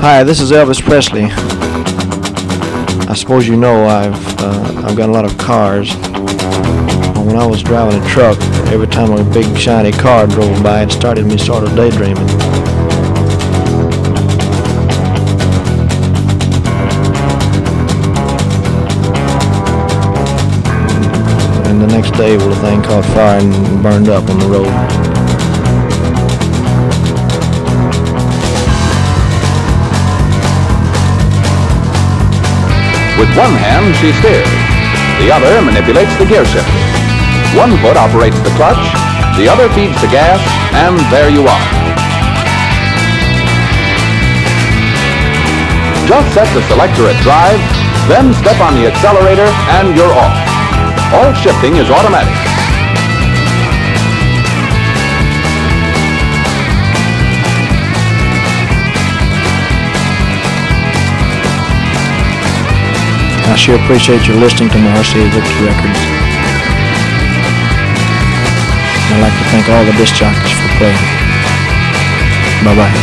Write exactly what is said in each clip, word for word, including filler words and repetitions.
Hi, this is Elvis Presley. I suppose you know I've uh, I've got a lot of cars. When I was driving a truck, every time a big shiny car drove by, it started me sort of daydreaming. And the next day, well, the thing caught fire and burned up on the road. With one hand, she steers. The other manipulates the gear shifter. One foot operates the clutch, the other feeds the gas, and there you are. Just set the selector at drive, then step on the accelerator, and you're off. All shifting is automatic. I sure appreciate your listening to my R C A Victor records. I'd like to thank all the disc jockeys for playing. Bye-bye.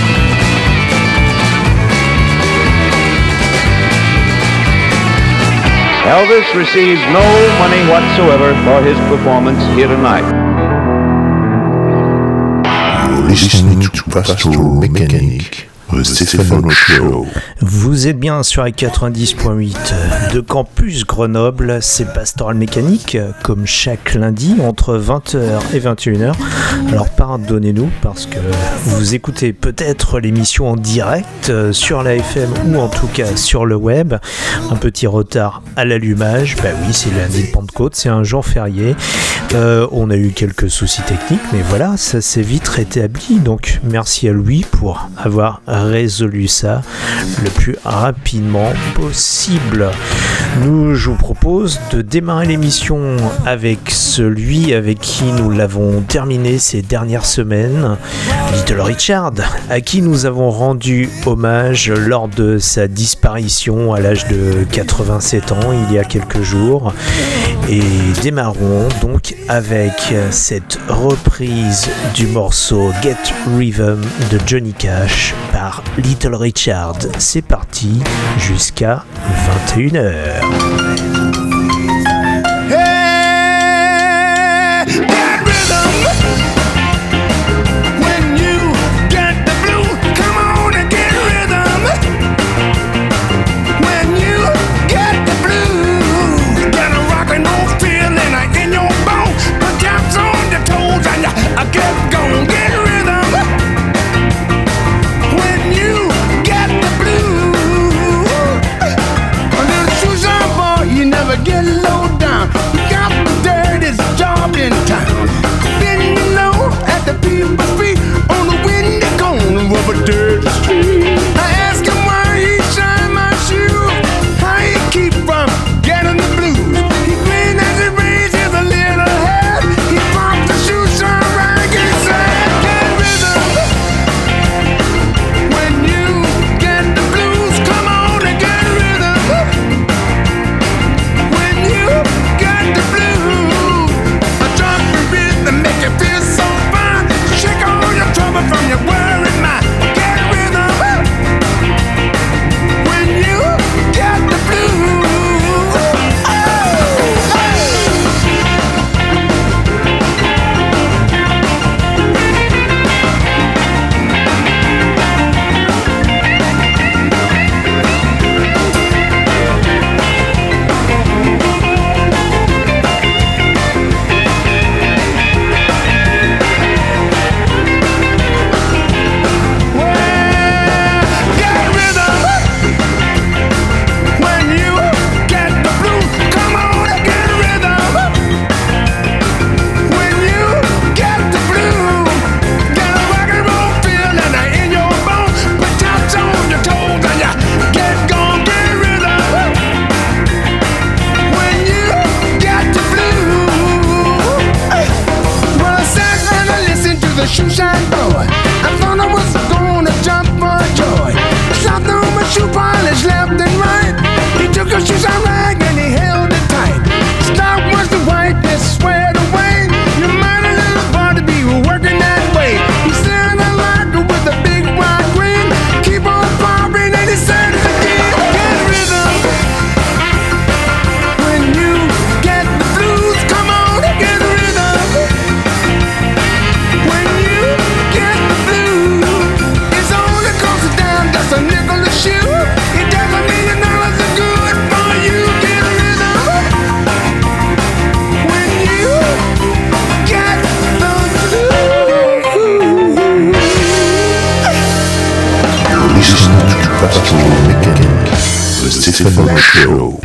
Elvis receives no money whatsoever for his performance here tonight. You're listening to Pastoral Mechanic. Stefano Show. Vous êtes bien sur la quatre-vingt-dix point huit de Campus Grenoble, c'est Pastoral Mécanique, comme chaque lundi entre vingt heures et vingt et une heures. Alors pardonnez-nous parce que vous écoutez peut-être l'émission en direct sur la F M ou en tout cas sur le web. Un petit retard à l'allumage, bah oui, c'est lundi de Pentecôte, c'est un jour férié. Euh, on a eu quelques soucis techniques, mais voilà, ça s'est vite rétabli. Donc merci à Louis pour avoir résolu ça le plus rapidement possible. Nous, je vous propose de démarrer l'émission avec celui avec qui nous l'avons terminé ces dernières semaines, Little Richard, à qui nous avons rendu hommage lors de sa disparition à l'âge de quatre-vingt-sept ans il y a quelques jours. Et démarrons donc avec cette reprise du morceau Get Rhythm de Johnny Cash par Little Richard. C'est parti jusqu'à vingt et une heures. Never get listening to Pastoral Mechanic, the Stefano Show.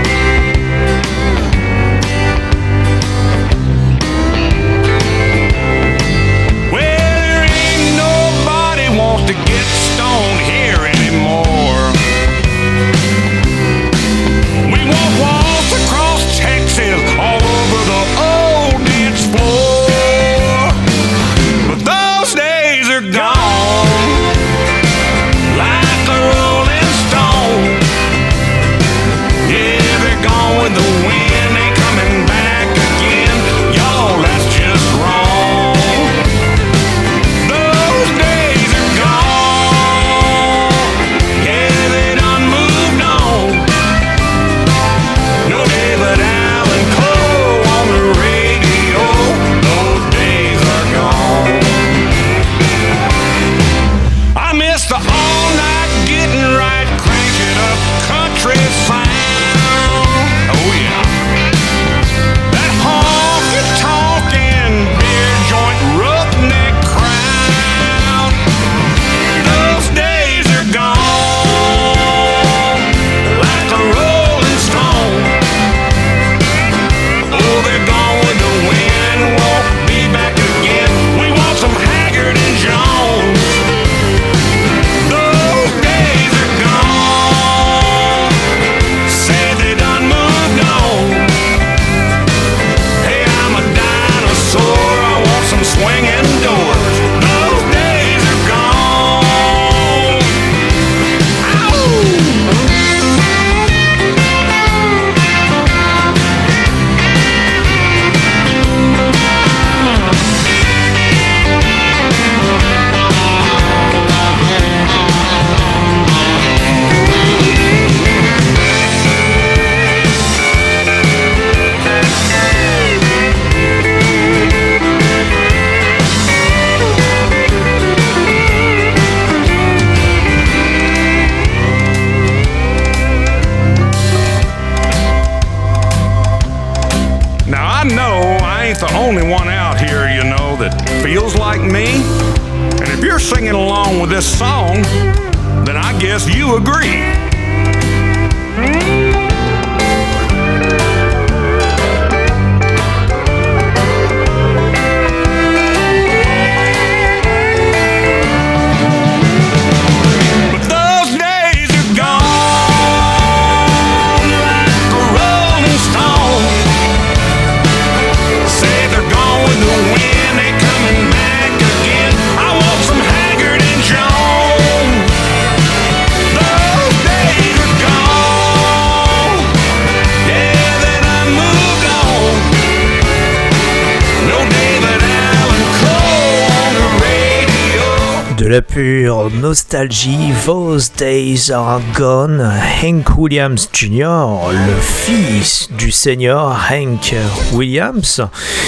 La pure nostalgie, Those Days Are Gone. Hank Williams junior, le fils du senior Hank Williams.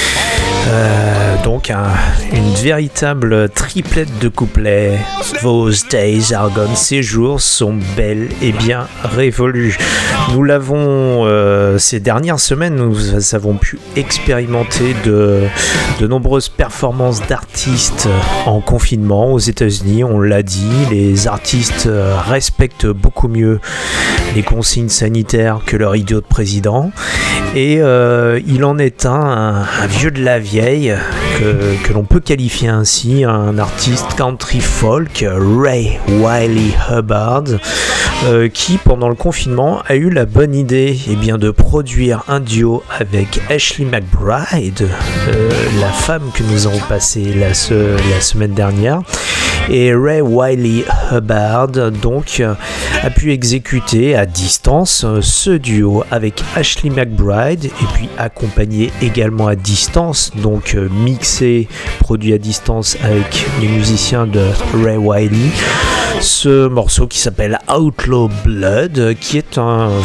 Euh, donc un, une véritable triplette de couplets. Those days are gone, ces jours sont bel et bien révolus. Nous l'avons euh, ces dernières semaines, nous avons pu expérimenter de, de nombreuses performances d'artistes en confinement aux États-Unis. On l'a dit, les artistes respectent beaucoup mieux les consignes sanitaires que leur idiot de président. Et euh, il en est un, un, un vieux de la vieille que, que l'on peut qualifier ainsi, un artiste country folk, Ray Wylie Hubbard, euh, qui pendant le confinement a eu la bonne idée eh bien, de produire un duo avec Ashley McBryde, euh, la femme que nous avons passée la, se, la semaine dernière. Et Ray Wylie Hubbard donc a pu exécuter à distance ce duo avec Ashley McBryde et puis accompagné également à distance, donc mixé, produit à distance avec les musiciens de Ray Wylie, ce morceau qui s'appelle Outlaw Blood, qui est un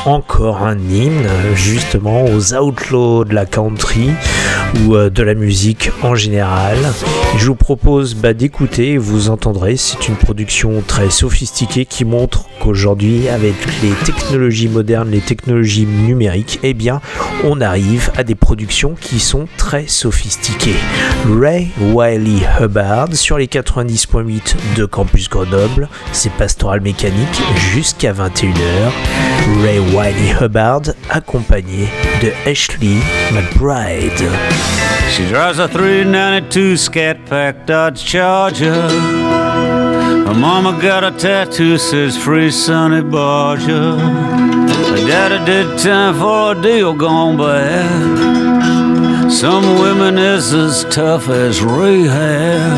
encore un hymne justement aux outlaws de la country ou euh, de la musique en général. Je vous propose bah, d'écouter, vous entendrez, c'est une production très sophistiquée qui montre qu'aujourd'hui, avec les technologies modernes, les technologies numériques, eh bien, on arrive à des productions qui sont très sophistiquées. Ray Wylie Hubbard sur les quatre-vingt-dix point huit de Campus Grenoble, c'est Pastoral Mécanique jusqu'à vingt et une heures. Ray Wylie Hubbard accompagné de Ashley McBride. She drives a three ninety-two Scat Pack Dodge Charger. Her mama got a tattoo says free Sonny Barger. Her daddy did time for a deal gone bad. Some women is as tough as rehab.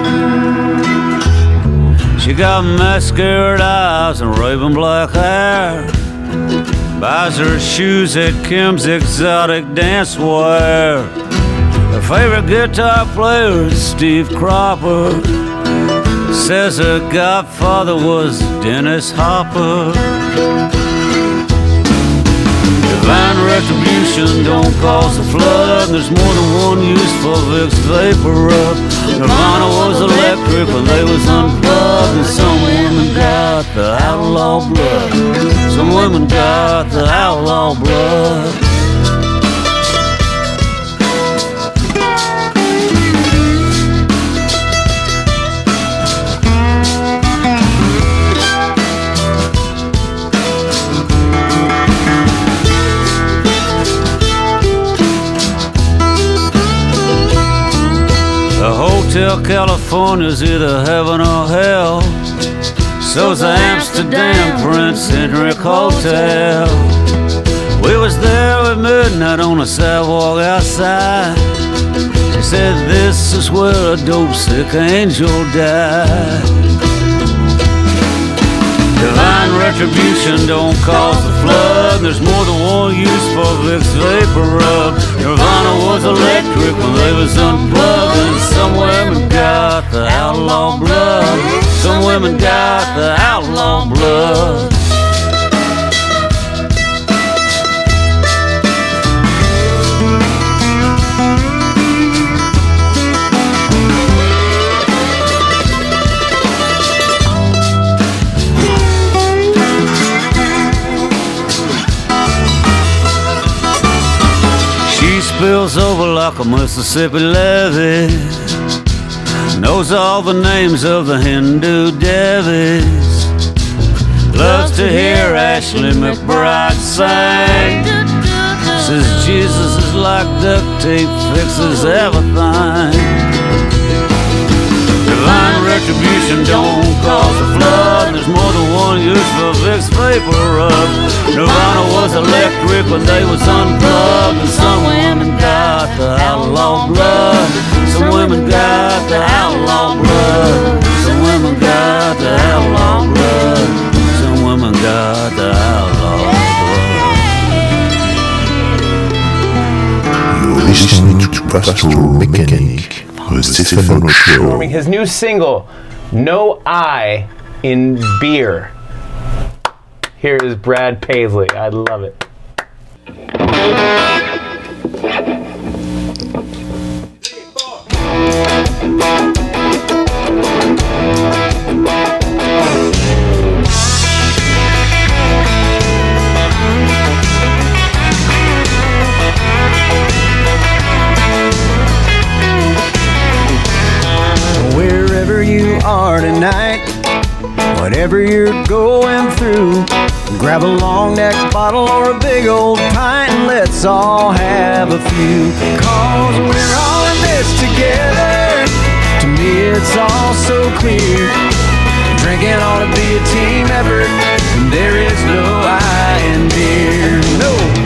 She got mascara eyes and raven black hair. Buys her shoes at Kim's Exotic Dancewear. Her favorite guitar player is Steve Cropper. Says her godfather was Dennis Hopper. Divine retribution don't cause a flood. There's more than one use for Vicks Vapor Rub. Nirvana was electric when they was unplugged. And some women got the outlaw blood. Some women got the outlaw blood. Hotel California's either heaven or hell. So's the Amsterdam Prince Henrik Hotel. We was there at midnight on the sidewalk outside. She said this is where a dope sick angel died. Divine retribution don't cause a flood. There's more than one use for Vicks Vapor Rub. Nirvana was electric when they was unplugged. And some women got the outlaw blood. Some women got the outlaw blood. Spills over like a Mississippi levee. Knows all the names of the Hindu devis. Loves to hear Ashley McBride sing. Says Jesus is like duct tape, fixes everything. Divine retribution don't cause a flood. There's more than one use for Vicks Vapor Rub. Nirvana was electric when they was unplugged. And some women got the outlaw blood. Some women got the outlaw blood. Some women got the outlaw blood. Some women got the outlaw blood. You're listening to Pastoral Mechanic, the Stephen Show. His new single, No I in Beer. Here is Brad Paisley. I love it. Wherever you are tonight, whatever you're going through, grab a long neck bottle or a big old pint and let's all have a few. Cause we're all in this together. To me it's all so clear. Drinking ought to be a team effort. And there is no I in beer. No.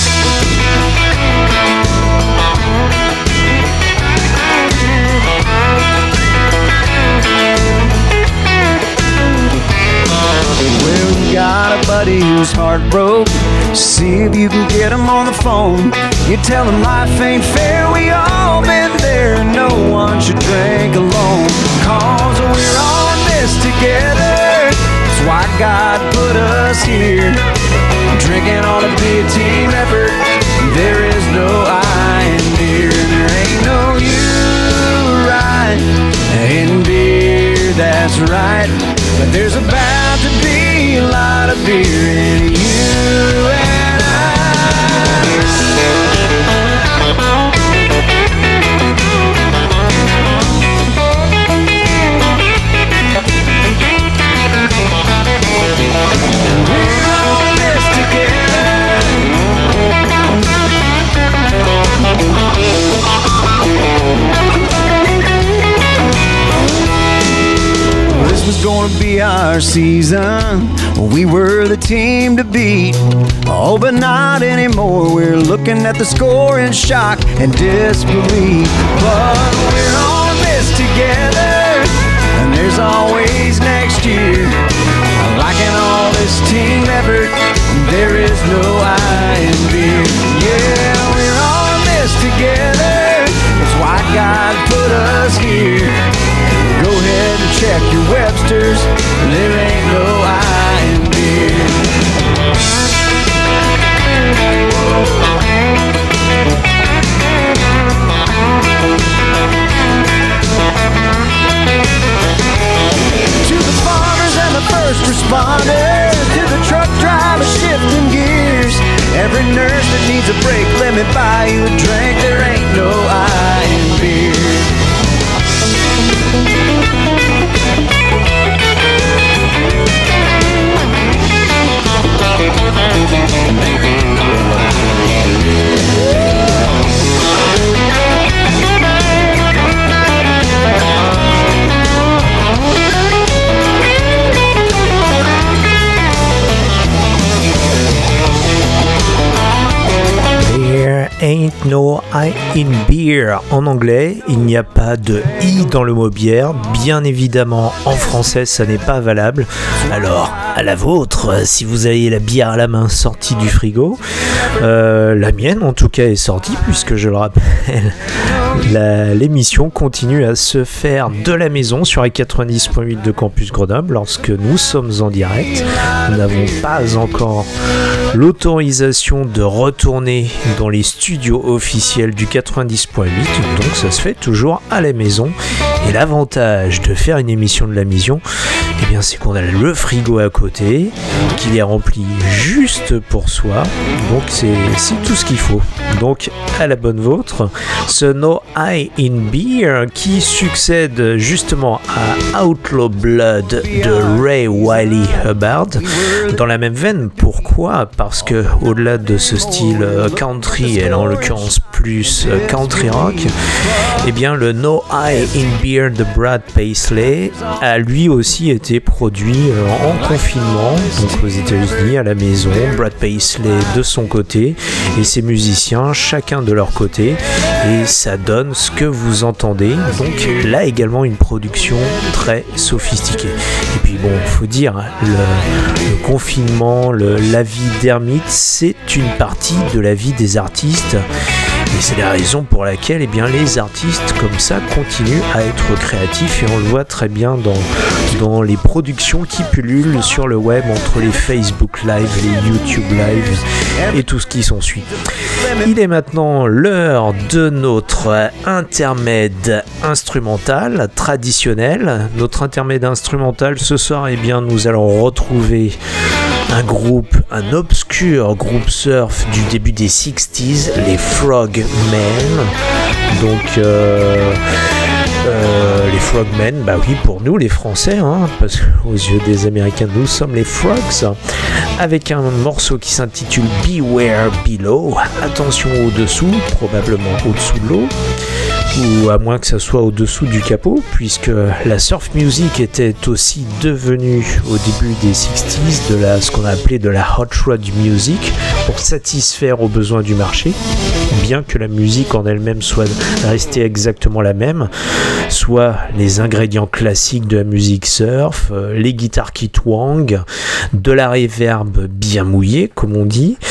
Well, you got a buddy who's heartbroken. See if you can get him on the phone. You tell him life ain't fair. We all been there. No one should drink alone. Cause we're all in this together. That's why God put us here. drinking on a big team effort. There is no I in beer, and there ain't no you right in beer, that's right. But there's about to be a lot of beer in you and I. We're all in this together. This was gonna be our season. We were the team to beat. Oh, but not anymore. We're looking at the score in shock and disbelief. But we're all in this together, and there's always next year. Liking all this team effort, there is no I in beer. Yeah, we're all in this together. That's why God put us here. Go ahead and check your Webster's. There ain't no I in beer. To the farmers and the first responders, to the truck drivers shifting gears, every nurse that needs a break, let me buy you a drink. There ain't no I in beer. There ain't no I in beer. En anglais, il n'y a pas de i dans le mot bière. Bien évidemment, en français, ça n'est pas valable. Alors, à la vôtre, si vous avez la bière à la main sortie du frigo. Euh, la mienne, en tout cas, est sortie, puisque je le rappelle, la, l'émission continue à se faire de la maison sur les quatre-vingt-dix point huit de Campus Grenoble lorsque nous sommes en direct. Nous n'avons pas encore l'autorisation de retourner dans les studios officiels du quatre-vingt-dix point huit, donc ça se fait toujours à la maison. Et l'avantage de faire une émission de la maison, eh bien, c'est qu'on a le frigo à côté, qu'il est rempli juste pour soi, donc c'est, c'est tout ce qu'il faut. Donc à la bonne vôtre, ce No I in Beer qui succède justement à Outlaw Blood de Ray Wylie Hubbard. Dans la même veine, pourquoi ? Parce que au-delà de ce style country, et en l'occurrence plus country rock, eh bien le No I in Beer de Brad Paisley a lui aussi été produit en confinement, donc aux États-Unis à la maison. Brad Paisley de son côté et ses musiciens chacun de leur côté, et ça donne ce que vous entendez. Donc là également une production très sophistiquée. Et puis bon, faut dire, le, le confinement, le, la vie d'ermite, c'est une partie de la vie des artistes. Et c'est la raison pour laquelle eh bien, les artistes comme ça continuent à être créatifs, et on le voit très bien dans, dans les productions qui pullulent sur le web entre les Facebook Live, les YouTube Live et tout ce qui s'ensuit. Il est maintenant l'heure de notre intermède instrumental traditionnel. Notre intermède instrumental ce soir, eh bien, nous allons retrouver un groupe, un obscur groupe surf du début des sixties, les Frogmen. Donc euh, euh, les Frogmen, bah oui, pour nous les Français, hein, parce qu'aux yeux des Américains nous sommes les Frogs, avec un morceau qui s'intitule Beware Below. Attention au-dessous, probablement au-dessous de l'eau, ou à moins que ça soit au-dessous du capot, puisque la surf music était aussi devenue au début des sixties de la, ce qu'on a appelé de la hot rod music, pour satisfaire aux besoins du marché, bien que la musique en elle-même soit restée exactement la même, soit les ingrédients classiques de la musique surf, les guitares qui twangent, de la reverb bien mouillée comme on dit,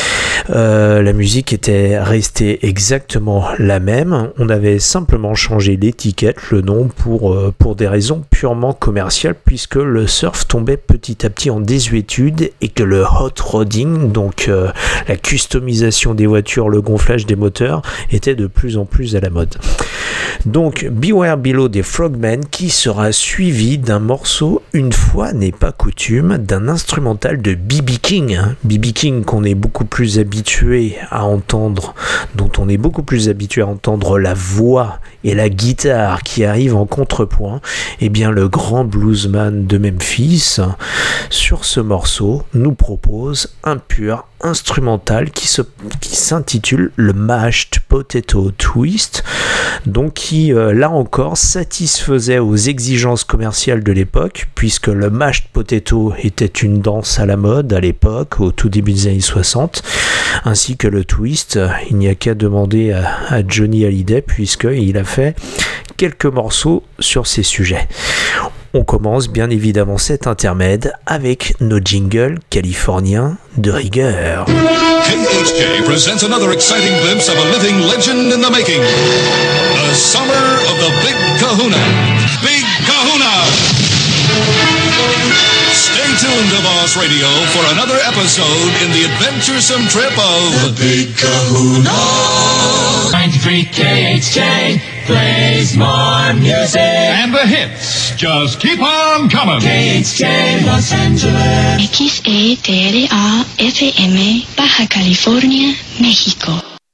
Euh, la musique était restée exactement la même. On avait simplement changé l'étiquette, le nom, pour, euh, pour des raisons purement commerciales, puisque le surf tombait petit à petit en désuétude et que le hot rodding, donc euh, la customisation des voitures, le gonflage des moteurs, était de plus en plus à la mode. Donc Beware Below des Frogmen, qui sera suivi d'un morceau, une fois n'est pas coutume, d'un instrumental de B B King. B B King qu'on est beaucoup plus habitué à entendre, dont on est beaucoup plus habitué à entendre la voix et la guitare qui arrivent en contrepoint. Et bien le grand bluesman de Memphis, sur ce morceau, nous propose un pur instrumental qui, se, qui s'intitule le Mashed Potato Twist, donc qui euh, là encore satisfaisait aux exigences commerciales de l'époque, puisque le Mashed Potato était une danse à la mode à l'époque, au tout début des années soixante, ainsi que le twist. Il n'y a qu'à demander à, à Johnny Hallyday, puisqu'il a fait quelques morceaux sur ces sujets. On commence bien évidemment cet intermède avec nos jingles californiens de rigueur. K H K presents another exciting glimpse of a living legend in the making. The summer of the Big Kahuna. Big Kahuna! Stay tuned to Boss Radio for another episode in the adventuresome trip of the Big Kahuna. ninety-three K H K plays more music. And the hits just keep on coming. K H K Los Angeles. X E T R A F M Baja California, México.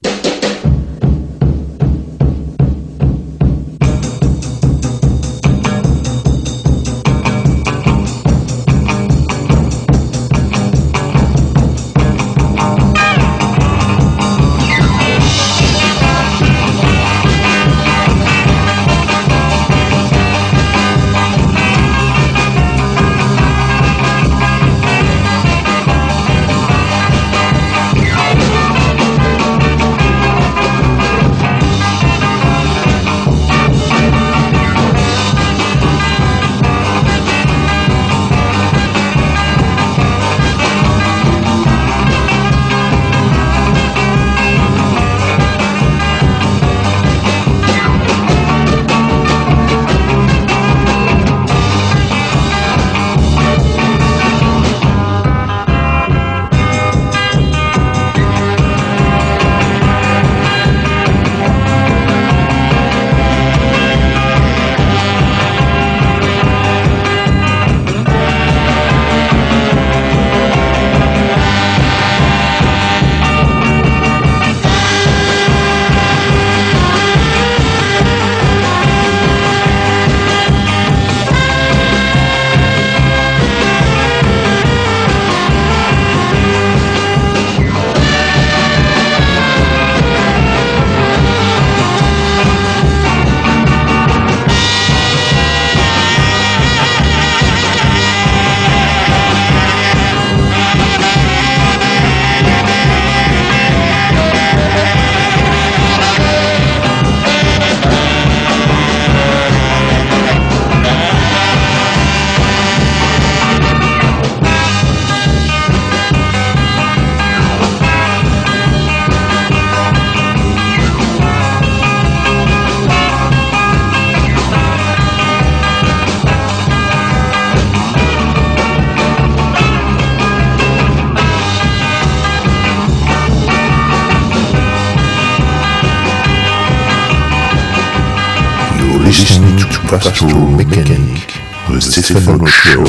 Listening to Pastoral Mechanic, the Stefano Show.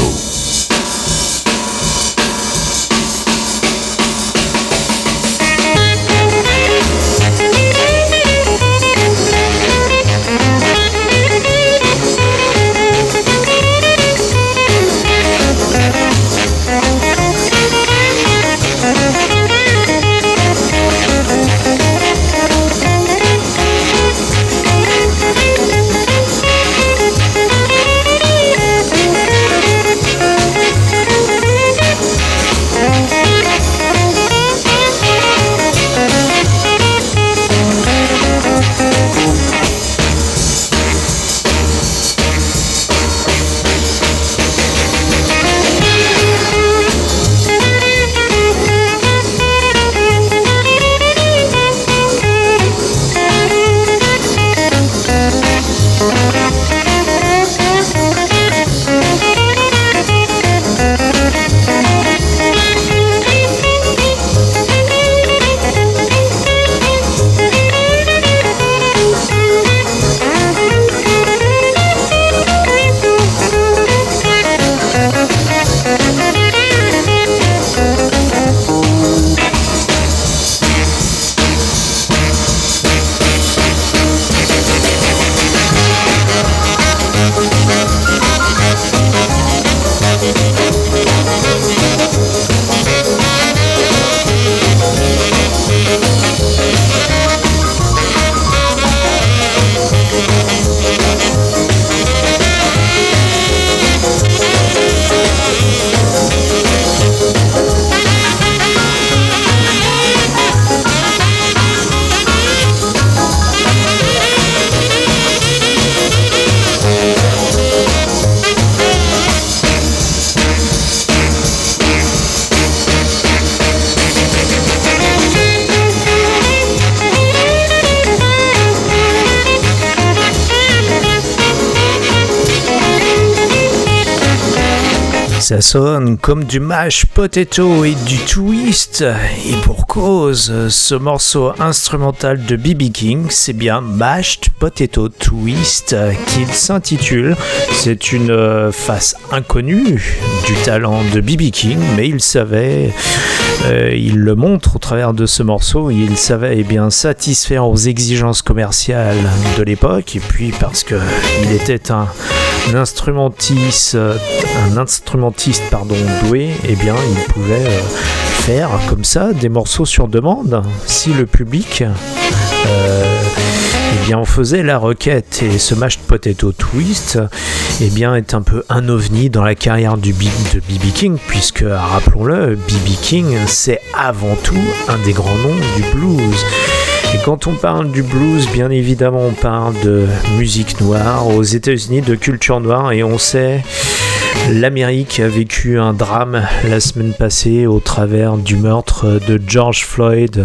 Ça sonne comme du mash potato et du twist, et pour cause, ce morceau instrumental de B B King, c'est bien Mashed Potato Twist qu'il s'intitule. C'est une face inconnue du talent de B B King, mais il savait, euh, il le montre au travers de ce morceau, il savait eh bien satisfaire aux exigences commerciales de l'époque, et puis parce que il était un Un instrumentiste, un instrumentiste pardon, doué, eh bien, il pouvait euh, faire comme ça des morceaux sur demande si le public euh, eh bien, en faisait la requête. Et ce Mashed Potato Twist eh bien, est un peu un ovni dans la carrière du B- de B B King, puisque, rappelons-le, B B King, c'est avant tout un des grands noms du blues. Et quand on parle du blues, bien évidemment, on parle de musique noire aux États-Unis, de culture noire, et on sait, l'Amérique a vécu un drame la semaine passée au travers du meurtre de George Floyd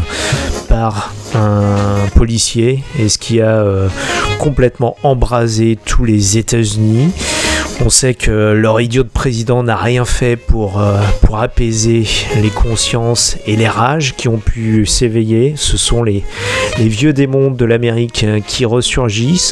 par un policier, et ce qui a euh, complètement embrasé tous les États-Unis. On sait que leur idiot de président n'a rien fait pour, euh, pour apaiser les consciences et les rages qui ont pu s'éveiller. Ce sont les, les vieux démons de l'Amérique qui ressurgissent.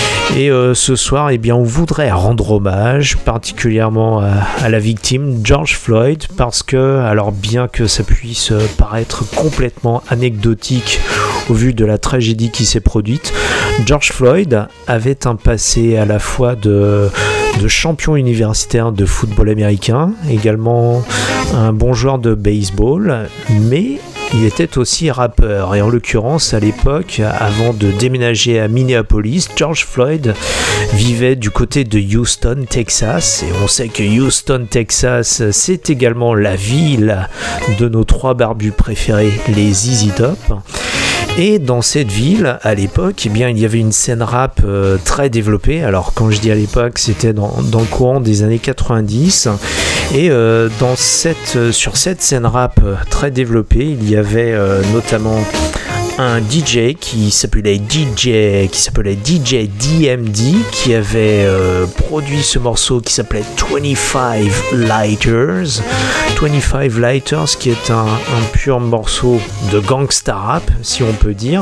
Et euh, ce soir, eh bien, on voudrait rendre hommage particulièrement à, à la victime, George Floyd, parce que, alors bien que ça puisse paraître complètement anecdotique au vu de la tragédie qui s'est produite, George Floyd avait un passé à la fois de... de champion universitaire de football américain, également un bon joueur de baseball, mais il était aussi rappeur. Et en l'occurrence, à l'époque, avant de déménager à Minneapolis, George Floyd vivait du côté de Houston, Texas. Et on sait que Houston, Texas, c'est également la ville de nos trois barbus préférés, les Z Z Top. Et dans cette ville, à l'époque, eh bien, il y avait une scène rap euh, très développée. Alors, quand je dis à l'époque, c'était dans, dans le courant des années quatre-vingt-dix. Et euh, dans cette, euh, sur cette scène rap euh, très développée, il y avait euh, notamment un D J qui s'appelait D J qui s'appelait D J D M D, qui avait euh, produit ce morceau qui s'appelait vingt-cinq Lighters. vingt-cinq Lighters, qui est un, un pur morceau de gangsta rap, si on peut dire.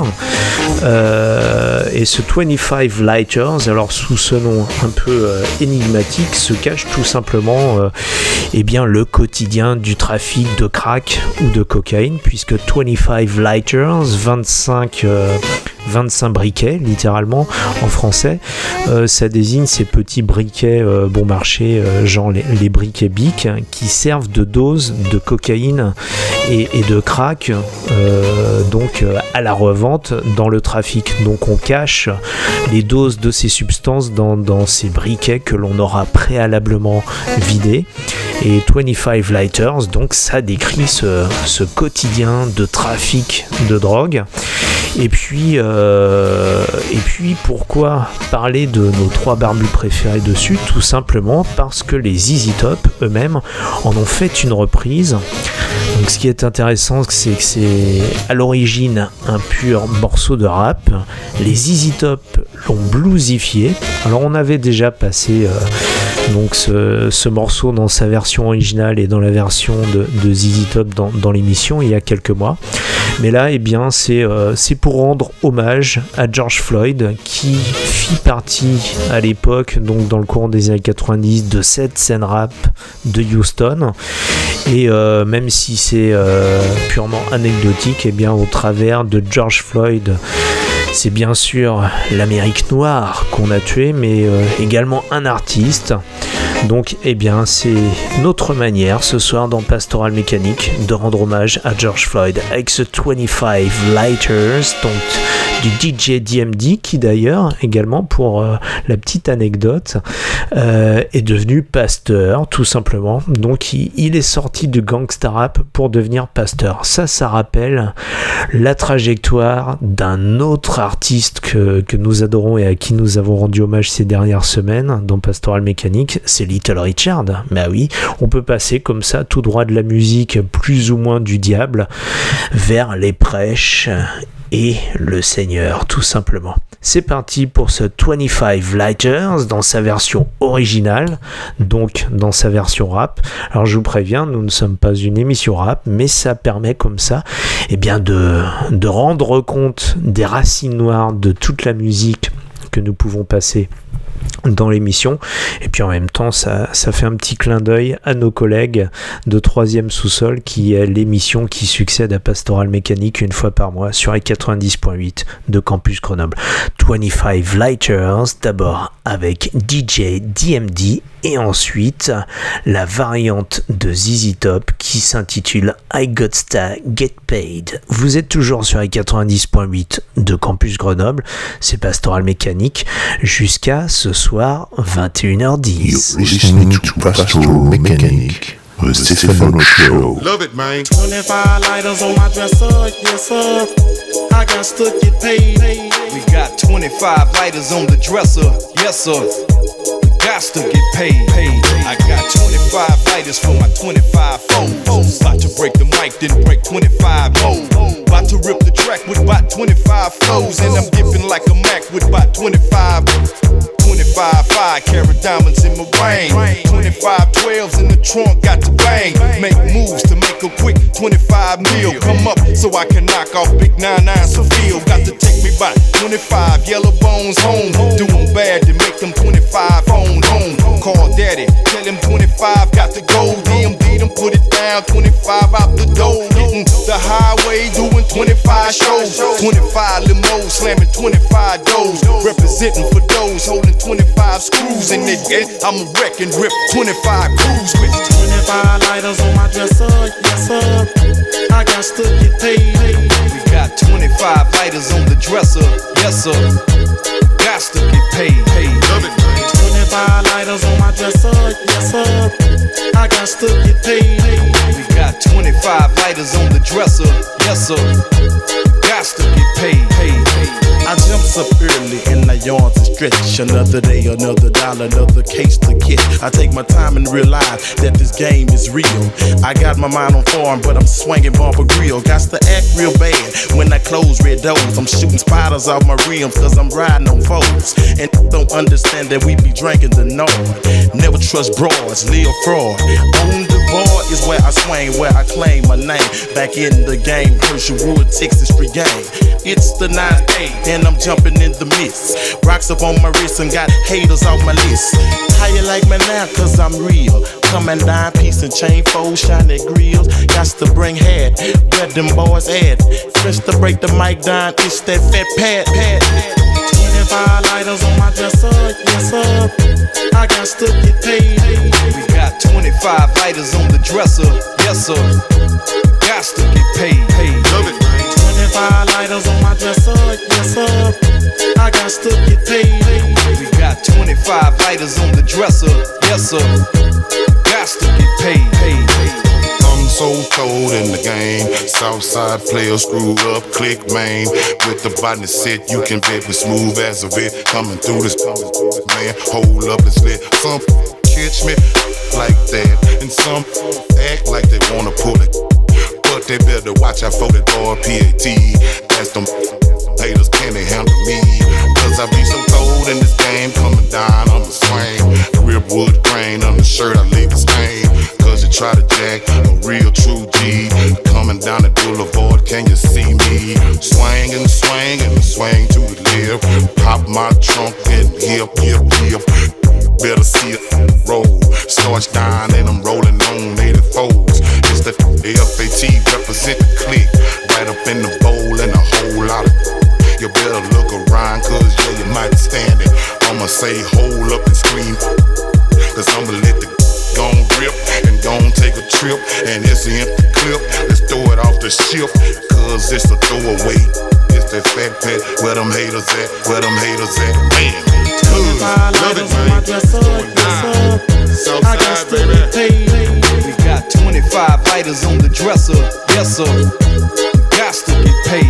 Euh, et ce vingt-cinq Lighters, alors sous ce nom un peu euh, énigmatique, se cache tout simplement euh, eh bien, le quotidien du trafic de crack ou de cocaïne, puisque vingt-cinq Lighters, vingt-cinq, euh, vingt-cinq briquets, littéralement, en français, euh, ça désigne ces petits briquets euh, bon marché, euh, genre les, les briquets Bic, hein, qui servent de dose de cocaïne et, et de crack, euh, donc euh, à la revente dans le trafic. Donc on cache les doses de ces substances dans, dans ces briquets que l'on aura préalablement vidés. Et vingt-cinq Lighters, donc ça décrit ce, ce quotidien de trafic de drogue. Et puis, euh, et puis pourquoi parler de nos trois barbus préférés dessus? Tout simplement parce que les Z Z Top eux-mêmes en ont fait une reprise. Donc ce qui est intéressant, c'est que c'est à l'origine un pur morceau de rap. Les Z Z Top l'ont bluesifié. Alors on avait déjà passé euh, donc ce, ce morceau dans sa version originale et dans la version de, de Z Z Top dans, dans l'émission il y a quelques mois. Mais là, eh bien, c'est, euh, c'est pour rendre hommage à George Floyd, qui fit partie à l'époque, donc dans le courant des années quatre-vingt-dix, de cette scène rap de Houston. Et euh, même si c'est euh, purement anecdotique, eh bien, au travers de George Floyd, c'est bien sûr l'Amérique noire qu'on a tué, mais euh, également un artiste. Donc, eh bien, c'est notre manière ce soir dans Pastoral Mécanique de rendre hommage à George Floyd avec ce vingt-cinq Lighters, donc du D J D M D, qui d'ailleurs, également pour euh, la petite anecdote, euh, est devenu pasteur, tout simplement. Donc, il, il est sorti du gangsta rap pour devenir pasteur. Ça, ça rappelle la trajectoire d'un autre artiste que, que nous adorons et à qui nous avons rendu hommage ces dernières semaines dans Pastoral Mécanique, c'est Little Richard. Bah oui, on peut passer comme ça tout droit de la musique plus ou moins du diable vers les prêches et le Seigneur, tout simplement. C'est parti pour ce vingt-cinq Lighters dans sa version originale, donc dans sa version rap. Alors je vous préviens, nous ne sommes pas une émission rap, mais ça permet comme ça eh bien de, de rendre compte des racines noires de toute la musique que nous pouvons passer dans l'émission, et puis en même temps ça, ça fait un petit clin d'œil à nos collègues de troisième sous-sol, qui est l'émission qui succède à Pastoral Mécanique une fois par mois sur les quatre-vingt-dix point huit de Campus Grenoble. vingt-cinq Lighters d'abord avec D J D M D, et ensuite la variante de Z Z Top qui s'intitule I Gotsta Get Paid. Vous êtes toujours sur les quatre-vingt-dix point huit de Campus Grenoble, c'est Pastoral Mécanique jusqu'à ce soir vingt et une heures dix. You're listening to Pastoral Mechanic, the Stefano Show. Love it, man. twenty-five lighters on my dresser, yes sir. I got to get paid. We got twenty-five lighters on the dresser, yes sir. Got to get paid. I got twenty-five lighters for my twenty-five foes. About to break the mic, then break twenty-five more. About to rip the track with about twenty-five flows. And I'm dipping like a Mac with about twenty-five. twenty-five five carat diamonds in my ring. twenty-five twelves in the trunk, got to bang. Make moves to make a quick twenty-five mil. Come up so I can knock off big nine nine Seville. Got to take me by twenty-five yellow bones home. Doing bad to make them twenty-five phone home. Call daddy, tell him twenty-five got to go. D M D them put it down, twenty-five out the door. Hitting the highway, doing twenty-five shows. twenty-five limos, slamming twenty-five doors. Representing for those holding twenty-five screws in it. I'm a wreck and rip twenty-five crews with twenty-five lighters on my dresser, yes sir. I got to get paid. We got twenty-five lighters on the dresser, yes sir. Got to get paid. Love it. twenty-five lighters on my dresser, yes sir. I got to get paid. We got twenty-five lighters on the dresser, yes sir. Got to get paid. I jumps up early and I yawn to stretch. Another day, another dollar, another case to get. I take my time and realize that this game is real. I got my mind on form, but I'm swinging bumper grill. Got to act real bad when I close red doors. I'm shooting spiders off my rims cause I'm riding on foes. And don't understand that we be drinking the Nord. Never trust broads, live fraud. On the board is where I swing, where I claim my name. Back in the game, Herschel Wood, Texas Street game. It's the nine eight and I'm jumping in the mist. Rocks up on my wrist and got haters off my list. How you like me now? Cause I'm real. Coming down, piece and chain, fold, shiny grills. Got to bring head, where them boys at. Fresh to break the mic down, it's that fat pad, pad. twenty-five lighters on my dresser, yes sir. I got to get paid. We got twenty-five lighters on the dresser, yes sir. Got to get paid. Love it. twenty-five lighters on my dresser, yes sir. I got to get paid. We got twenty-five lighters on the dresser, yes sir. Got to get paid. I'm so cold in the game. Southside players screwed up, click main. With the body set, you can bet we smooth as a bit. Coming through this, man, hold up, it's lit. Some catch me like that, and some act like they wanna pull it. But they better watch out for that boy P A T. That's them haters, can they handle me? Cause I be so cold in this game, coming down on the swing. Ripwood grain on the shirt, I leave a stain. Cause you try to jack a real true G. Coming down the boulevard, can you see me? Swing and swing and swing to the left. Pop my trunk and hip, hip, hip. Better see it roll. Starch down and I'm rolling on eighty-fours. It's the F A T represent the clique. Right up in the bowl and a whole lot of. You better look around cause yeah you might stand it. I'ma say hold up and scream. Cause I'ma let the gon' rip and gon' take a trip. And it's an empty clip. Let's throw it off the ship. Cause it's a throwaway. It's that fat pet. Where them haters at? Where them haters at? Man. twenty-five lighters on my dresser, yes sir. I got to get paid. We got twenty-five lighters on the dresser, yes sir. Got to get paid.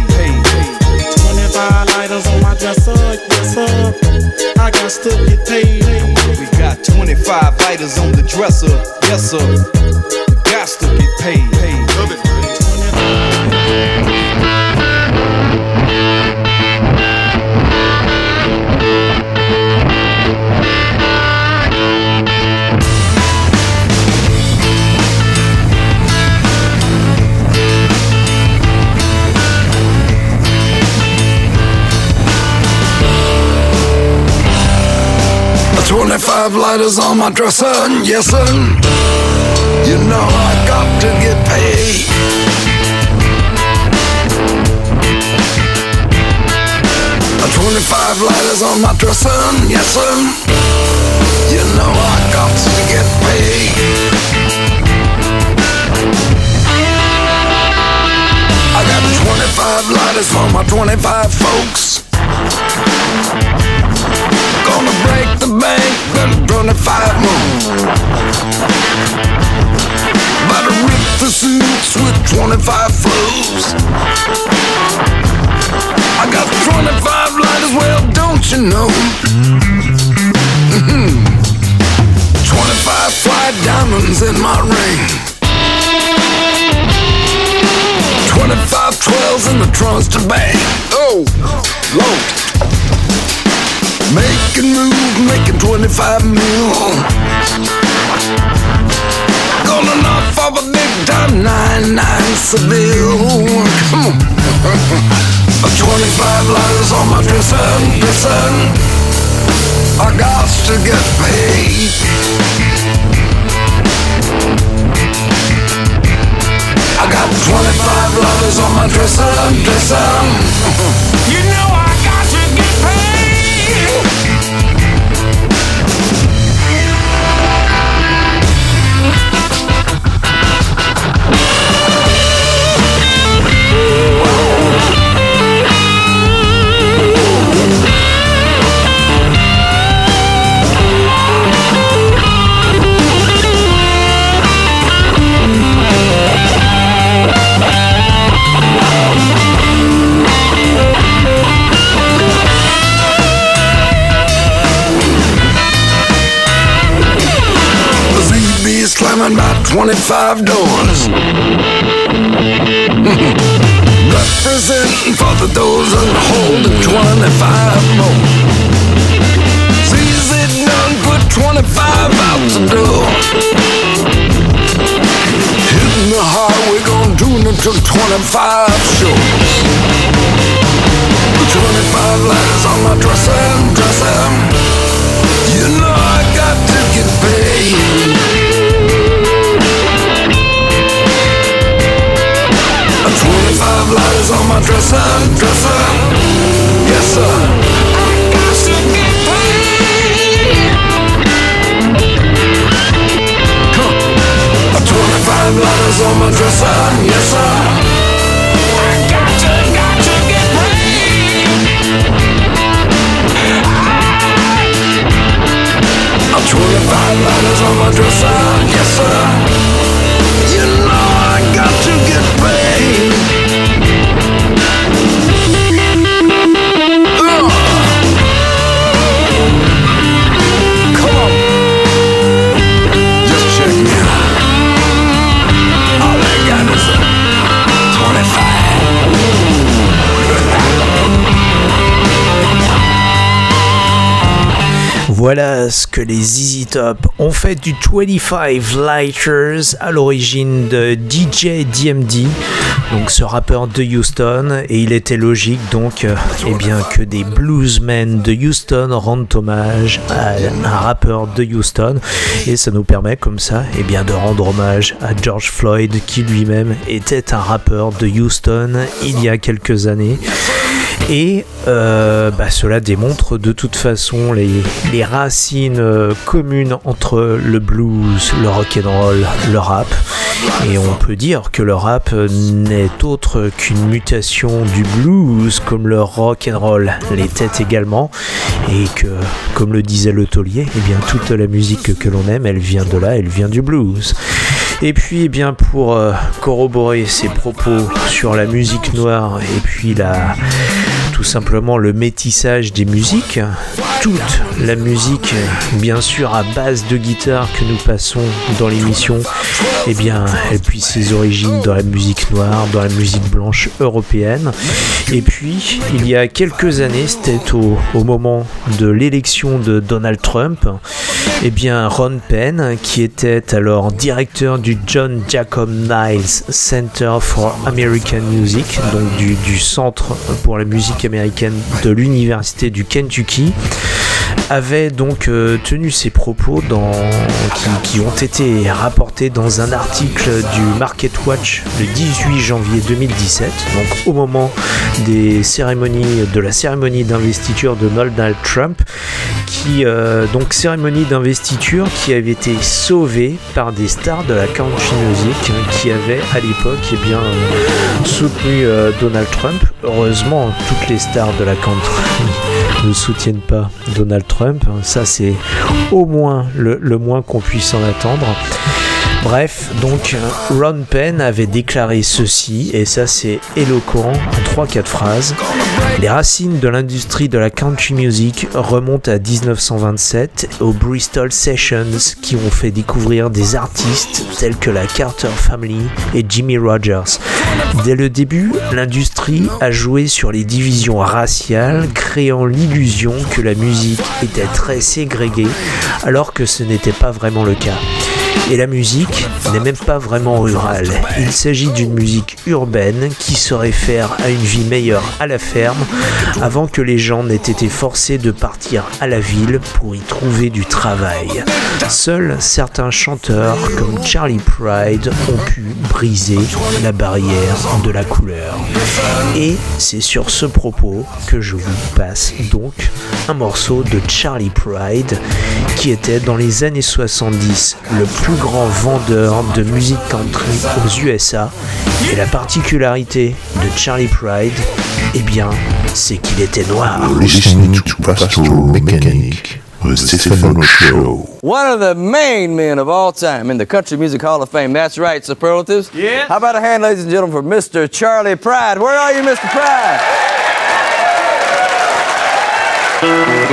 twenty-five lighters on my dresser, yes sir. I got to get paid. We got twenty-five lighters on the dresser, yes sir. Got to get paid. Love it. twenty-five lighters on my dresser, yes sir. You know I got to get paid. twenty-five lighters on my dresser, yes sir. You know I got to get paid. I got twenty-five lighters for my twenty-five folks. Gonna break the bank, then twenty-five more. About to rip the suits with twenty-five flows. I got twenty-five lighters, well, don't you know? Mm-hmm. twenty-five fly diamonds in my ring. twenty-five twelves in the trunks to bang. Oh, Lord. Making moves, making twenty-five mil. Gonna knock off a big time nine nine Seville. Come on. twenty-five lighters on my dresser, dresser. I got to get paid. I got twenty-five lighters on my dresser, dresser. You know I got to get paid. Slamming about twenty-five doors. Representing for the doors and holding twenty-five more. Sees it done, put twenty-five out the door. Hitting the highway, gonna tune it to twenty-five shows. twenty-five lighters on my dresser, dresser. You know I got to get paid. twenty-five lighters on my dresser, dresser. Yes sir. I got to get paid. Come on. twenty-five lighters on my dresser, yes sir. I got to, got to get paid. I, twenty-five lighters on my dresser, yes sir. You know I got to get paid. Voilà ce que les Z Z Top ont fait du vingt-cinq Lighters à l'origine de D J D M D, donc ce rappeur de Houston, et il était logique donc euh, eh bien, que des bluesmen de Houston rendent hommage à un rappeur de Houston, et ça nous permet comme ça eh bien, de rendre hommage à George Floyd qui lui-même était un rappeur de Houston il y a quelques années. Et euh, bah, cela démontre de toute façon les, les racines euh, communes entre le blues, le rock'n'roll, le rap. Et on peut dire que le rap n'est autre qu'une mutation du blues, comme le rock'n'roll l'était également. Et que, comme le disait le taulier, eh bien, toute la musique que l'on aime, elle vient de là, elle vient du blues. Et puis, eh bien, pour euh, corroborer ses propos sur la musique noire et puis la... tout simplement le métissage des musiques, toute la musique bien sûr à base de guitare que nous passons dans l'émission, eh bien elle puise ses origines dans la musique noire, dans la musique blanche européenne. Et puis il y a quelques années, c'était au, au moment de l'élection de Donald Trump, eh bien Ron Penn, qui était alors directeur du John Jacob Niles Center for American Music, donc du, du centre pour la musique américaine de l'université du Kentucky, avait donc euh, tenu ses propos dans, qui, qui ont été rapportés dans un article du Market Watch le dix-huit janvier deux mille dix-sept, donc au moment des cérémonies, de la cérémonie d'investiture de Donald Trump, qui euh, donc cérémonie d'investiture qui avait été sauvée par des stars de la country music qui avaient à l'époque eh bien euh, soutenu euh, Donald Trump. Heureusement, toutes les stars de la country ne soutiennent pas Donald Trump, ça c'est au moins le, le moins qu'on puisse en attendre. Bref, donc Ron Penn avait déclaré ceci, et ça c'est éloquent en trois quatre phrases. Les racines de l'industrie de la country music remontent à dix-neuf cent vingt-sept, aux Bristol Sessions qui ont fait découvrir des artistes tels que la Carter Family et Jimmy Rogers. Dès le début, l'industrie a joué sur les divisions raciales, créant l'illusion que la musique était très ségrégée, alors que ce n'était pas vraiment le cas. Et la musique n'est même pas vraiment rurale. Il s'agit d'une musique urbaine qui se réfère à une vie meilleure à la ferme avant que les gens n'aient été forcés de partir à la ville pour y trouver du travail. Seuls certains chanteurs comme Charlie Pride ont pu briser la barrière de la couleur. Et c'est sur ce propos que je vous passe donc un morceau de Charlie Pride qui était dans les années soixante-dix le plus grand vendeur de musique country aux U S A. Et la particularité de Charlie Pride, eh bien, c'est qu'il était noir. Listening to Pastoral Mechanic, the Stephen Show. One of the main men of all time in the Country Music Hall of Fame. That's right, superlatives. Yeah. How about a hand, ladies and gentlemen, for Mister Charlie Pride? Where are you, Mister Pride? Oh,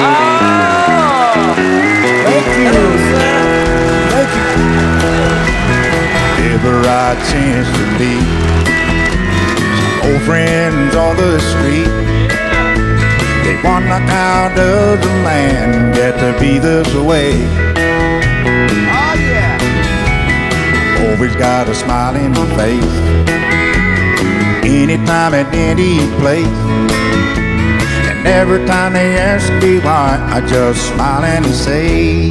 thank you. Hello, sir. Thank you. Ever I chance to meet some old friends on the street, they wonder how does a man get to be this way? Oh yeah. Always got a smiling face, anytime at any place. And every time they ask me why, I just smile and say,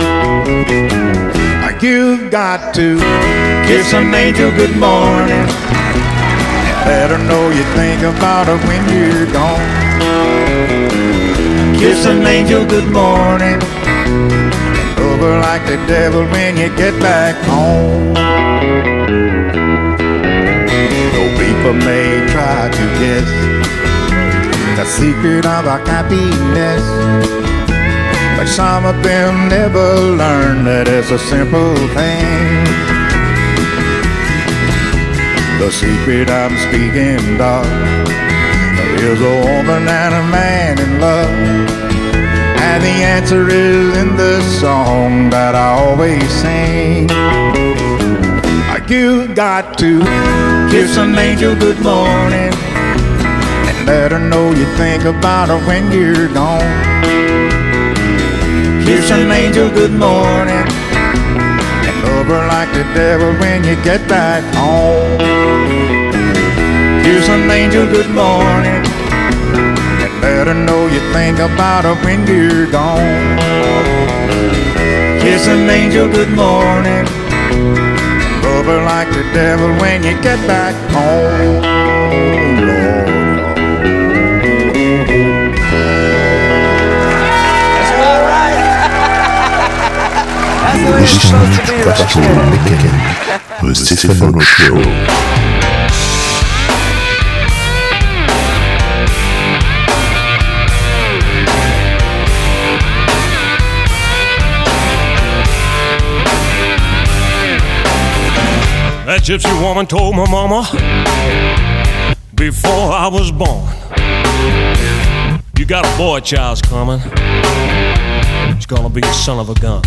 you've got to kiss an angel good morning and let her know you think about her when you're gone. Kiss an angel good morning and love her like the devil when you get back home. Though people may try to guess the secret of our happiness, but some of them never learn that it's a simple thing. The secret I'm speaking of is a woman and a man in love, and the answer is in the song that I always sing. You've got to kiss an angel good morning and let her know you think about her when you're gone. Kiss an angel good morning and love her like the devil when you get back home. Kiss an angel good morning and let her know you think about her when you're gone. Kiss an angel good morning and love her like the devil when you get back home. Lord. You're listening to Pastoral Mechanic, the Stephen Show. That gypsy woman told my mama before I was born, you got a boy child's coming. He's gonna be a son of a gun.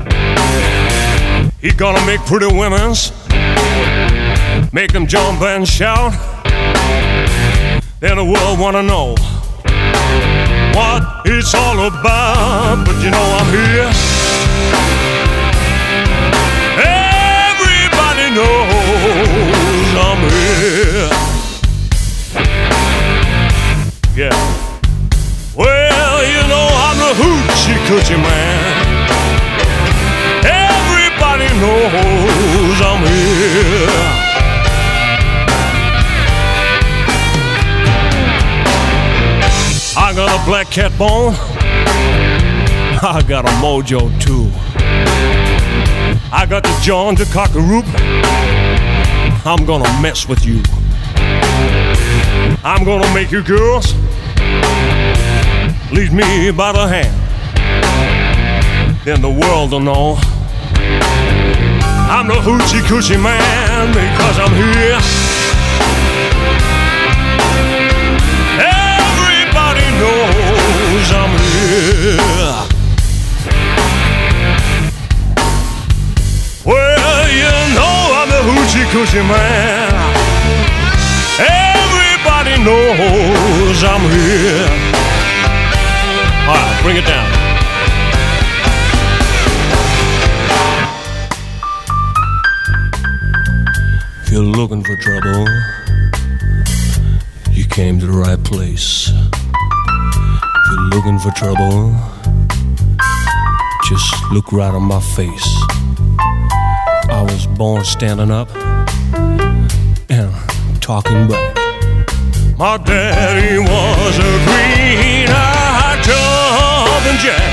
He gonna make pretty women's, make them jump and shout. Then the world wanna know what it's all about. But you know I'm here. Everybody knows I'm here. Yeah. Well, you know I'm the hoochie coochie man. Everybody knows I'm here. I got a black cat bone. I got a mojo too. I got the John the Cockaloop. I'm gonna mess with you. I'm gonna make you girls lead me by the hand. Then the world will know I'm the hoochie coochie man because I'm here. Everybody knows I'm here. Well, you know I'm the hoochie coochie man. Everybody knows I'm here. All right, bring it down. If you're looking for trouble, you came to the right place. If you're looking for trouble, just look right on my face. I was born standing up and talking back. My daddy was a green-eyed jumping jack.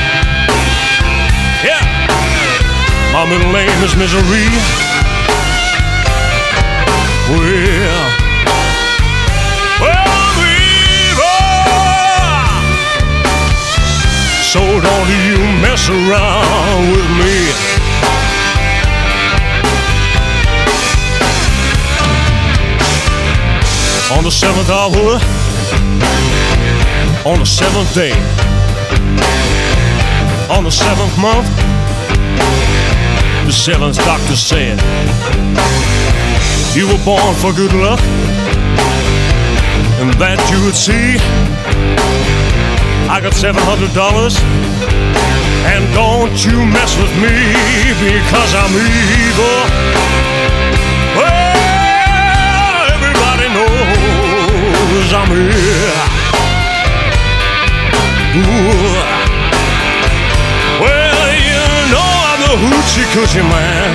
Yeah, my middle name is Misery. Well, well, Weaver. So don't you mess around with me. On the seventh hour, on the seventh day, on the seventh month, the seventh doctor said, you were born for good luck, and that you would see. I got seven hundred dollars, and don't you mess with me, because I'm evil. Well, everybody knows I'm here. Ooh. Well, you know I'm the hoochie coochie man.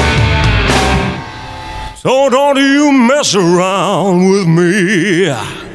So don't you mess around with me.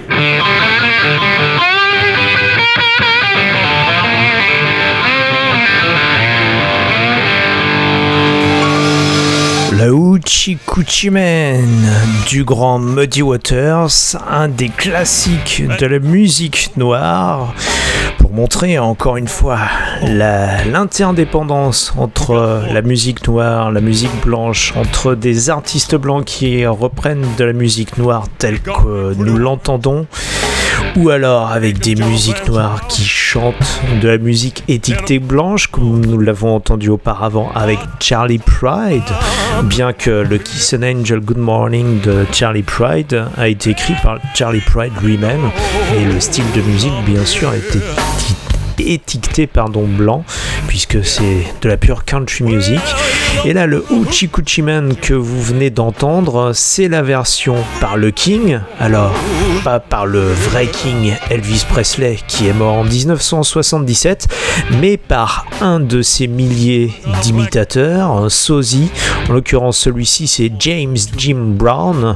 Le Hoochie Coochie Man du grand Muddy Waters, un des classiques de la musique noire, pour montrer encore une fois la, l'interdépendance entre la musique noire, la musique blanche, entre des artistes blancs qui reprennent de la musique noire telle que nous l'entendons, ou alors avec des musiques noires qui chantent de la musique étiquetée blanche, comme nous l'avons entendu auparavant avec Charlie Pride, bien que le Kiss an Angel Good Morning de Charlie Pride a été écrit par Charlie Pride lui-même, et le style de musique bien sûr a été étiqueté pardon, blanc, puisque c'est de la pure country music. Et là, le Hoochie Coochie Man que vous venez d'entendre, c'est la version par le King, alors pas par le vrai King Elvis Presley qui est mort en dix-neuf cent soixante-dix-sept, mais par un de ses milliers d'imitateurs, un sosie. En l'occurrence, celui-ci c'est James Jim Brown,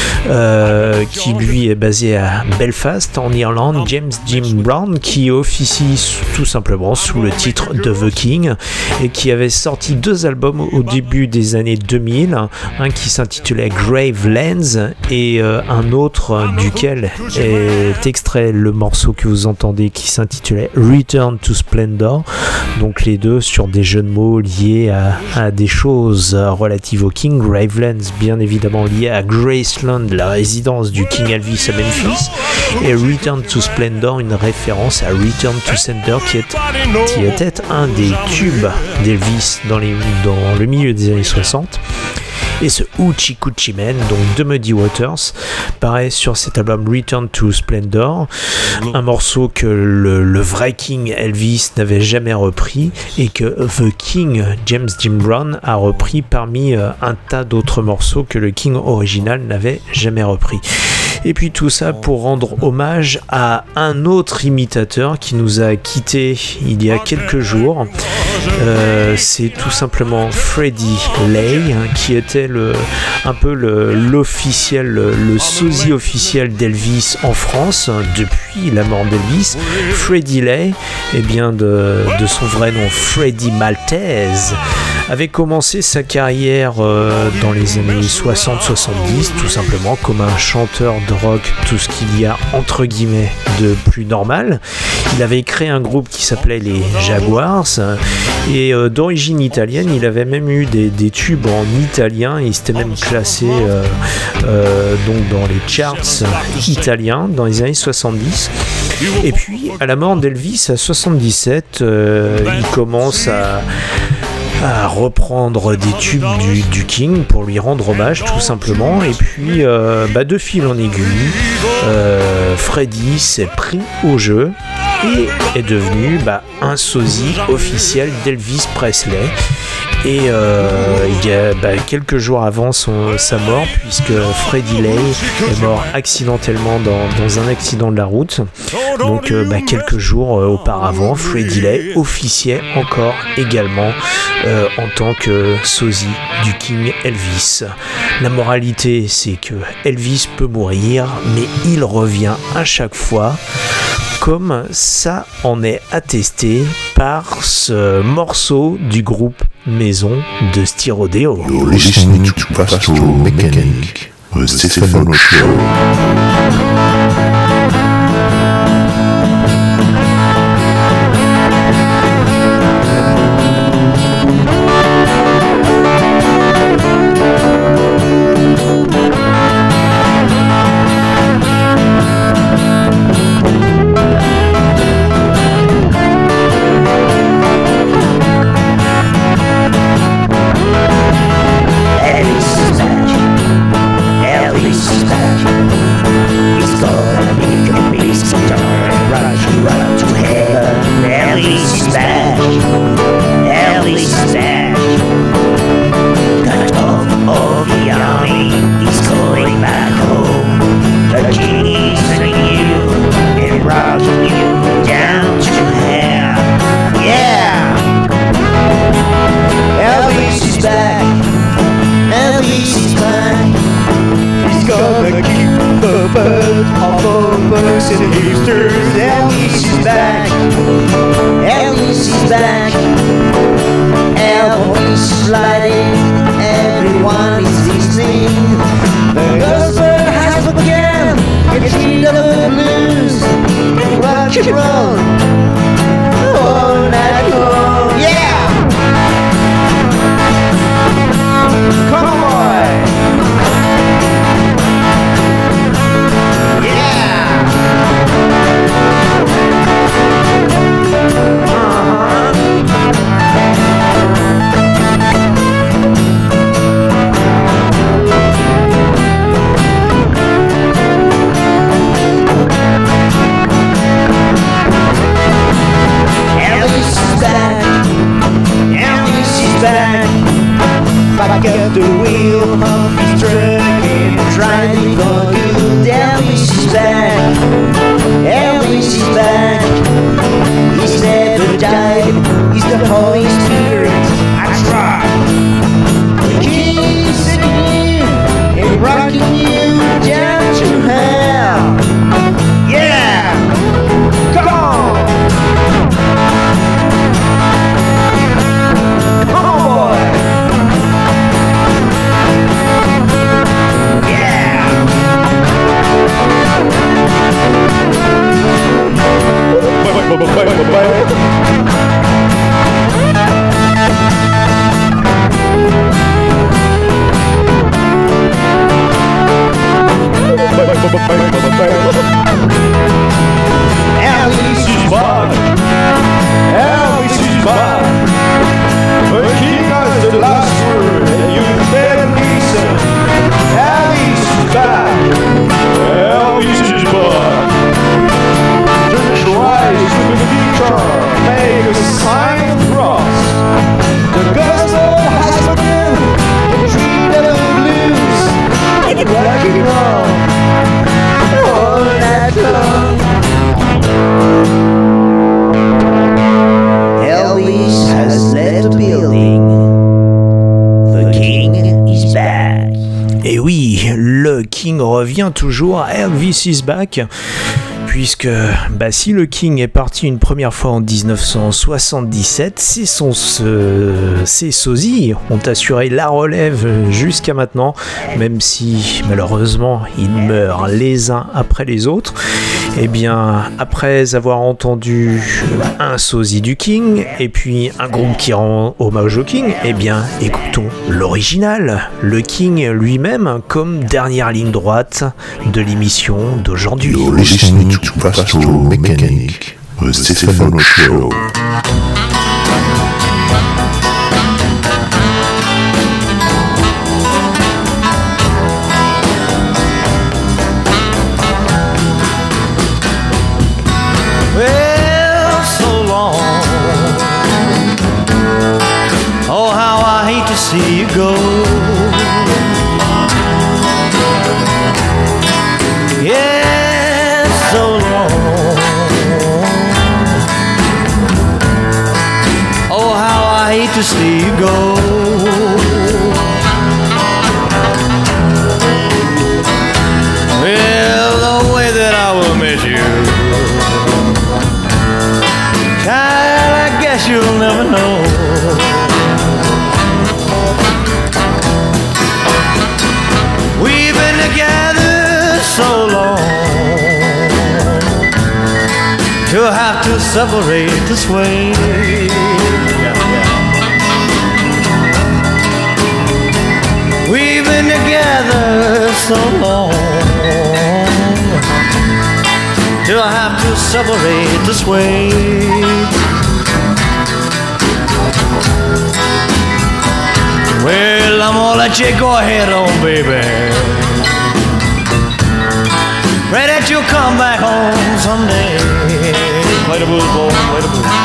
euh, qui lui est basé à Belfast en Irlande. James Jim Brown qui officie tout simplement sous le titre de The King et qui avait sorti deux albums au début des années deux mille, un qui s'intitulait Gravelands et euh, un autre duquel est extrait le morceau que vous entendez qui s'intitulait Return to Splendor, donc les deux sur des jeux de mots liés à, à des choses relatives au King. Gravelands bien évidemment lié à Graceland, la résidence du King Elvis à Memphis, et Return to Splendor une référence à Return to Sender qui, est, qui était un des tubes d'Elvis dans, les, dans le milieu des années soixante. Et ce Hoochie Coochie Man, donc de Muddy Waters, paraît sur cet album Return to Splendor, un morceau que le, le vrai King Elvis n'avait jamais repris et que The King James Jim Brown a repris parmi euh, un tas d'autres morceaux que le King original n'avait jamais repris. Et puis tout ça pour rendre hommage à un autre imitateur qui nous a quittés il y a quelques jours. Euh, c'est tout simplement Freddie Lay, hein, qui était le, un peu le, l'officiel, le, le sosie officiel d'Elvis en France hein, depuis la mort d'Elvis. Freddie Lay, eh bien de, de son vrai nom Freddie Maltese, avait commencé sa carrière euh, dans les années soixante soixante-dix, tout simplement comme un chanteur de rock, tout ce qu'il y a entre guillemets de plus normal. Il avait créé un groupe qui s'appelait les Jaguars et euh, d'origine italienne. Il avait même eu des, des tubes en italien et il s'était même classé euh, euh, donc dans les charts italiens dans les années soixante-dix. Et puis à la mort d'Elvis à soixante-dix-sept, euh, il commence à à reprendre des tubes du, du King pour lui rendre hommage tout simplement. Et puis euh, bah, de fil en aiguille, euh, Freddie s'est pris au jeu et est devenu bah, un sosie officiel d'Elvis Presley. Et euh, il y a bah, quelques jours avant son, sa mort, puisque Freddie Lay est mort accidentellement dans, dans un accident de la route. Donc euh, bah, quelques jours euh, auparavant, Freddie Lay officiait encore également euh, en tant que sosie du King Elvis. La moralité, c'est que Elvis peut mourir, mais il revient à chaque fois, comme ça en est attesté par ce morceau du groupe Maison de Styrodeo. You're listening to Pastoral Mechanic, the Stefano Show. oui, le King revient toujours, Elvis is back. Puisque bah, si le King est parti une première fois en dix-neuf cent soixante-dix-sept, c'est son, euh, ses sosies ont assuré la relève jusqu'à maintenant, même si malheureusement ils meurent les uns après les autres. Et bien après avoir entendu un sosie du King et puis un groupe qui rend hommage au King, et bien écoutons l'original, le King lui-même comme dernière ligne droite de l'émission d'aujourd'hui. To Pastoral Mechanic, the Stefano Show. Well, so long. Oh, how I hate to see you go. Yeah, so long. Oh, how I hate to see you go. Well, the way that I will miss you, child, I guess you'll never know. We've been together so long to have to separate this way. We've been together so long to have to separate this way. Well, I'm gonna let you go ahead on, baby. Pray that you'll come back home someday. Play the blues, boy, play the blues.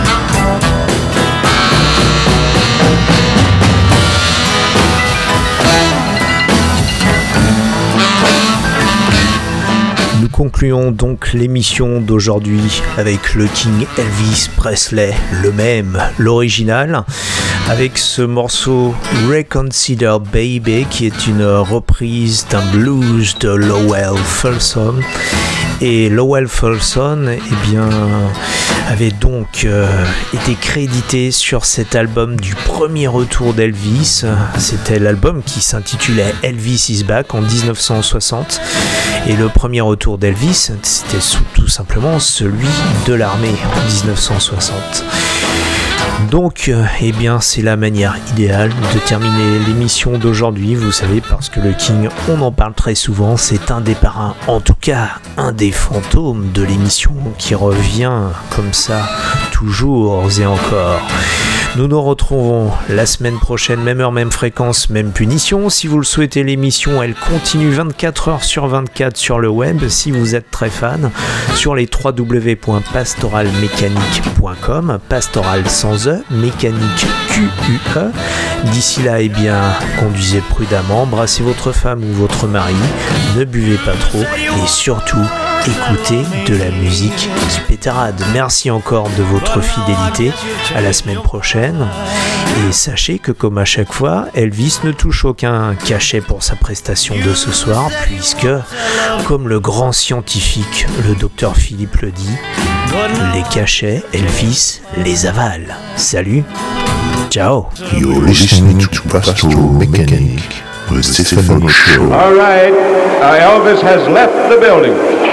Nous concluons donc l'émission d'aujourd'hui avec le King Elvis Presley, le même, l'original, avec ce morceau Reconsider Baby qui est une reprise d'un blues de Lowell Fulson. Et Lowell Fulson eh bien, avait donc euh, été crédité sur cet album du premier retour d'Elvis. C'était l'album qui s'intitulait Elvis is Back en dix-neuf cent soixante. Et le premier retour d'Elvis, c'était tout simplement celui de l'armée en dix-neuf cent soixante. Donc, euh, eh bien, c'est la manière idéale de terminer l'émission d'aujourd'hui, vous savez, parce que le King, on en parle très souvent, c'est un des parrains, en tout cas, un des fantômes de l'émission qui revient comme ça, toujours et encore. Nous nous retrouvons la semaine prochaine, même heure, même fréquence, même punition. Si vous le souhaitez, l'émission, elle continue vingt-quatre heures sur vingt-quatre sur le web, si vous êtes très fan, sur les w w w point pastoral mécanique point com, pastoral sans E, mécanique Q U E. D'ici là, eh bien, conduisez prudemment, brassez votre femme ou votre mari, ne buvez pas trop et surtout, écoutez de la musique qui pétarade. Merci encore de votre fidélité. À la semaine prochaine. Et sachez que comme à chaque fois, Elvis ne touche aucun cachet pour sa prestation de ce soir, puisque, comme le grand scientifique, le docteur Philippe le dit, les cachets, Elvis les avale. Salut. Ciao. You're listening to Pastoral Mechanic, the Stefano Show. All right, uh, Elvis has left the building.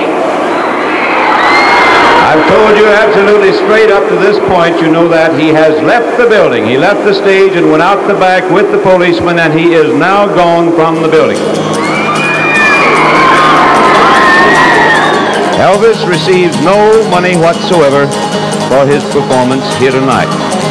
I've told you absolutely straight up to this point, you know that he has left the building. He left the stage and went out the back with the policeman, and he is now gone from the building. Elvis receives no money whatsoever for his performance here tonight.